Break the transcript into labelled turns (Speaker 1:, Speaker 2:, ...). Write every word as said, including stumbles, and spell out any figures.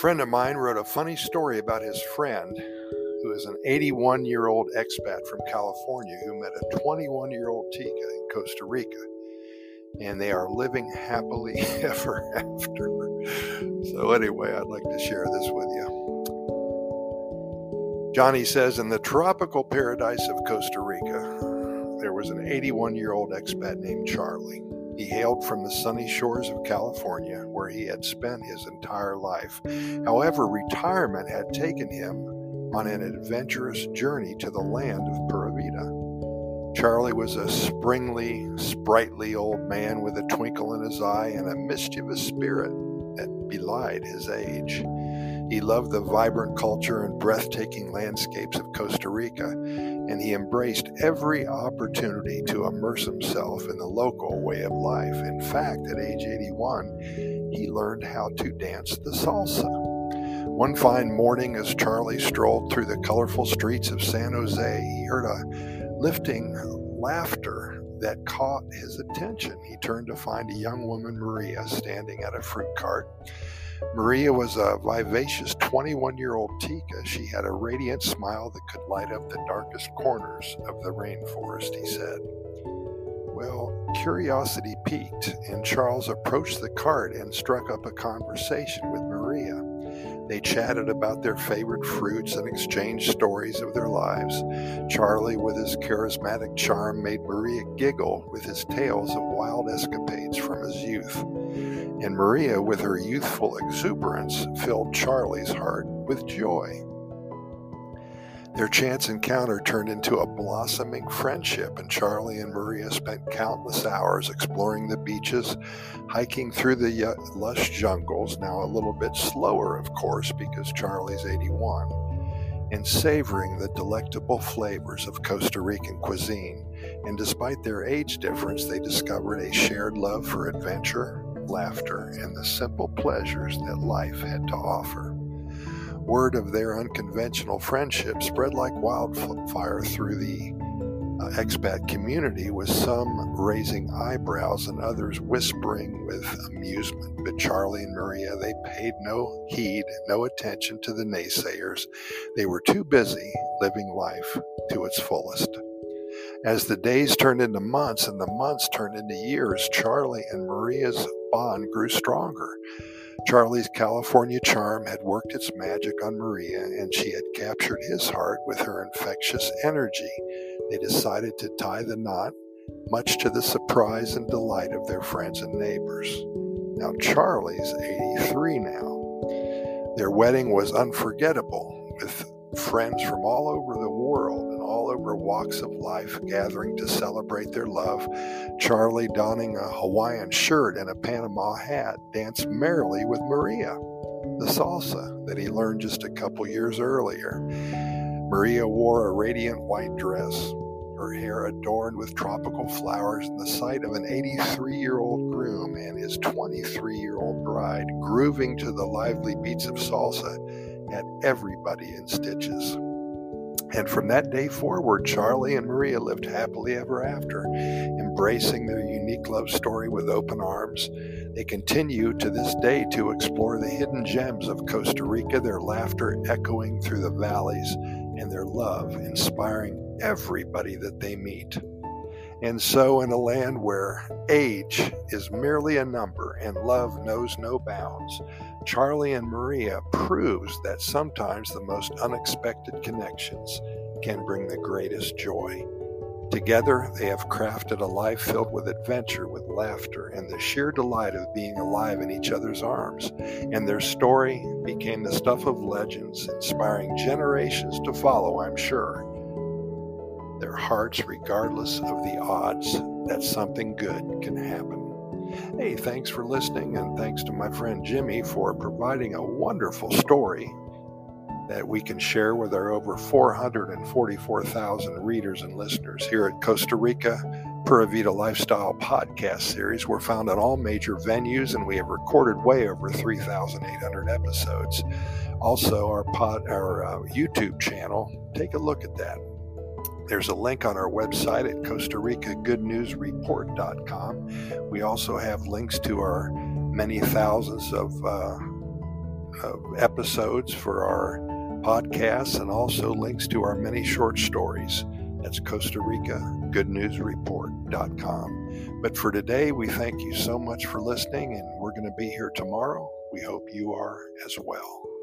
Speaker 1: friend of mine wrote a funny story about his friend who is an eighty-one-year-old expat from California who met a twenty-one-year-old Tika in Costa Rica, and they are living happily ever after. So anyway, I'd like to share this with you. Johnny says, in the tropical paradise of Costa Rica, there was an eighty-one-year-old expat named Charlie. He hailed from the sunny shores of California, where he had spent his entire life. However, retirement had taken him on an adventurous journey to the land of Pura Vida. Charlie was a springly, sprightly old man with a twinkle in his eye and a mischievous spirit that belied his age. He loved the vibrant culture and breathtaking landscapes of Costa Rica, and he embraced every opportunity to immerse himself in the local way of life. In fact, at age eighty-one, he learned how to dance the salsa. One fine morning, as Charlie strolled through the colorful streets of San Jose, he heard a lifting laughter that caught his attention. He turned to find a young woman, Maria, standing at a fruit cart. Maria was a vivacious twenty-one-year-old Tika. She had a radiant smile that could light up the darkest corners of the rainforest, he said. Well, curiosity piqued, and Charles approached the cart and struck up a conversation with Maria. They chatted about their favorite fruits and exchanged stories of their lives. Charlie, with his charismatic charm, made Maria giggle with his tales of wild escapades from his youth. And Maria, with her youthful exuberance, filled Charlie's heart with joy. Their chance encounter turned into a blossoming friendship, and Charlie and Maria spent countless hours exploring the beaches, hiking through the lush jungles, now a little bit slower, of course, because Charlie's eighty-one, and savoring the delectable flavors of Costa Rican cuisine. And despite their age difference, they discovered a shared love for adventure, laughter, and the simple pleasures that life had to offer. Word of their unconventional friendship spread like wildfire through the uh, expat community, with some raising eyebrows and others whispering with amusement. But Charlie and Maria, they paid no heed, no attention to the naysayers. They were too busy living life to its fullest. As the days turned into months and the months turned into years, Charlie and Maria's bond grew stronger. Charlie's California charm had worked its magic on Maria, and she had captured his heart with her infectious energy. They decided to tie the knot, much to the surprise and delight of their friends and neighbors. Now, Charlie's eighty-three now. Their wedding was unforgettable, with friends from all over the world and all over walks of life gathering to celebrate their love. Charlie, donning a Hawaiian shirt and a Panama hat, danced merrily with Maria, the salsa that he learned just a couple years earlier. Maria wore a radiant white dress, her hair adorned with tropical flowers, and the sight of an eighty-three-year-old groom and his twenty-three-year-old bride grooving to the lively beats of salsa had everybody in stitches. And from that day forward, Charlie and Maria lived happily ever after, embracing their unique love story with open arms. They continue to this day to explore the hidden gems of Costa Rica, their laughter echoing through the valleys, and their love inspiring everybody that they meet. And so, in a land where age is merely a number and love knows no bounds, Charlie and Maria proves that sometimes the most unexpected connections can bring the greatest joy. Together, they have crafted a life filled with adventure, with laughter, and the sheer delight of being alive in each other's arms. And their story became the stuff of legends, inspiring generations to follow, I'm sure. Their hearts, regardless of the odds that something good can happen. Hey, thanks for listening, and thanks to my friend Jimmy for providing a wonderful story that we can share with our over four hundred forty-four thousand readers and listeners here at Costa Rica Pura Vida Lifestyle Podcast Series. We're found on all major venues, and we have recorded way over three thousand eight hundred episodes. Also, our pod, our uh, YouTube channel, take a look at that. There's a link on our website at Costa Rica Good News Report dot com. We also have links to our many thousands of uh, of episodes for our podcasts and also links to our many short stories. That's Costa Rica Good News Report dot com. But for today, we thank you so much for listening, and we're going to be here tomorrow. We hope you are as well.